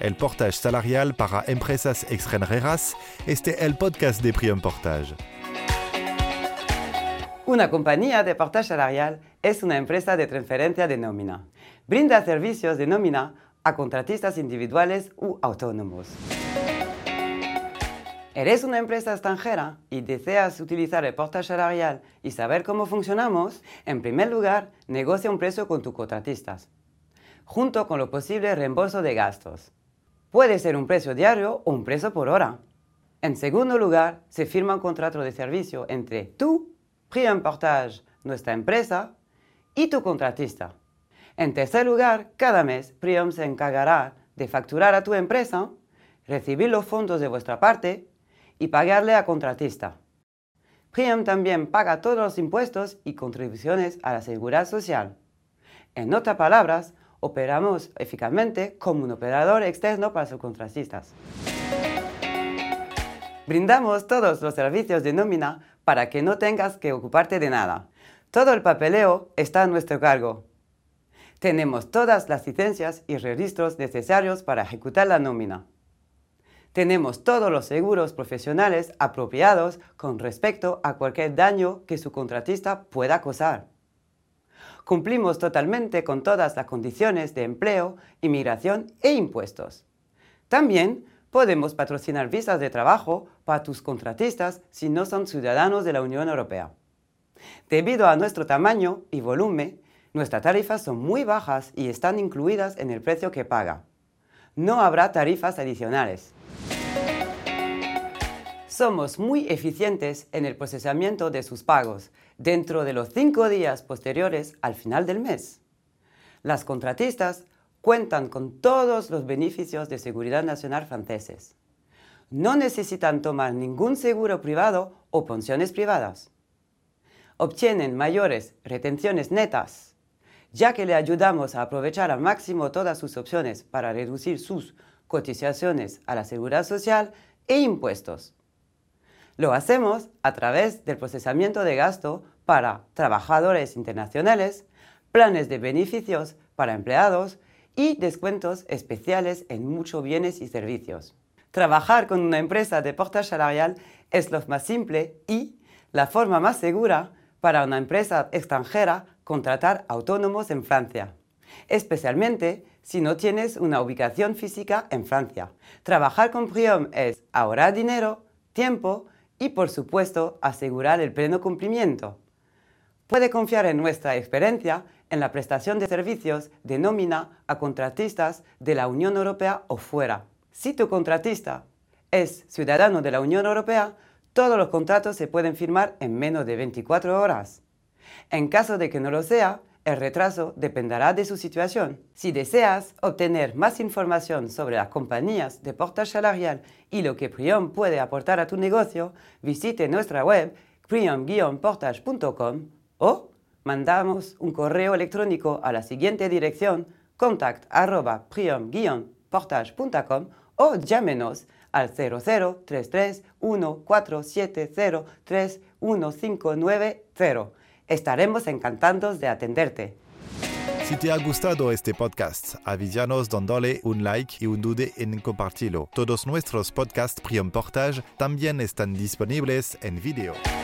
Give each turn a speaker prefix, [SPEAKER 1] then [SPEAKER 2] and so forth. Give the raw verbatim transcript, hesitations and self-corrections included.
[SPEAKER 1] el portage salarial para empresas extranjeras. Este es el podcast de Prium Portage.
[SPEAKER 2] Una compañía de portage salarial es una empresa de transferencia de nómina. Brinda servicios de nómina a contratistas individuales u autónomos. ¿Eres una empresa extranjera y deseas utilizar el portage salarial y saber cómo funcionamos? En primer lugar, negocia un precio con tus contratistas, junto con lo posible reembolso de gastos. Puede ser un precio diario o un precio por hora. En segundo lugar, se firma un contrato de servicio entre tú, Prium Portage, nuestra empresa, y tu contratista. En tercer lugar, cada mes Prium se encargará de facturar a tu empresa, recibir los fondos de vuestra parte y pagarle a contratista. Prium también paga todos los impuestos y contribuciones a la seguridad social. En otras palabras, operamos eficazmente como un operador externo para sus contratistas. Brindamos todos los servicios de nómina para que no tengas que ocuparte de nada. Todo el papeleo está a nuestro cargo. Tenemos todas las licencias y registros necesarios para ejecutar la nómina. Tenemos todos los seguros profesionales apropiados con respecto a cualquier daño que su contratista pueda causar. Cumplimos totalmente con todas las condiciones de empleo, inmigración e impuestos. También podemos patrocinar visas de trabajo para tus contratistas si no son ciudadanos de la Unión Europea. Debido a nuestro tamaño y volumen, nuestras tarifas son muy bajas y están incluidas en el precio que paga. No habrá tarifas adicionales. Somos muy eficientes en el procesamiento de sus pagos dentro de los cinco días posteriores al final del mes. Las contratistas cuentan con todos los beneficios de seguridad nacional franceses. No necesitan tomar ningún seguro privado o pensiones privadas. Obtienen mayores retenciones netas, ya que le ayudamos a aprovechar al máximo todas sus opciones para reducir sus cotizaciones a la seguridad social e impuestos. Lo hacemos a través del procesamiento de gasto para trabajadores internacionales, planes de beneficios para empleados y descuentos especiales en muchos bienes y servicios. Trabajar con una empresa de portage salarial es lo más simple y la forma más segura para una empresa extranjera contratar autónomos en Francia, especialmente si no tienes una ubicación física en Francia. Trabajar con Prium es ahorrar dinero, tiempo y, por supuesto, asegurar el pleno cumplimiento. Puede confiar en nuestra experiencia en la prestación de servicios de nómina a contratistas de la Unión Europea o fuera. Si tu contratista es ciudadano de la Unión Europea, todos los contratos se pueden firmar en menos de veinticuatro horas. En caso de que no lo sea, el retraso dependerá de su situación. Si deseas obtener más información sobre las compañías de portage salarial y lo que Prium puede aportar a tu negocio, visite nuestra web prium guion portage punto com o mandamos un correo electrónico a la siguiente dirección contact arroba prium guion portage punto com o llámenos al cero cero tres tres uno cuatro siete cero tres uno cinco nueve cero. Estaremos encantados de atenderte.
[SPEAKER 1] Si te ha gustado este podcast, avísanos dándole un like y un dude en compartirlo. Todos nuestros podcasts Prium Portage también están disponibles en video.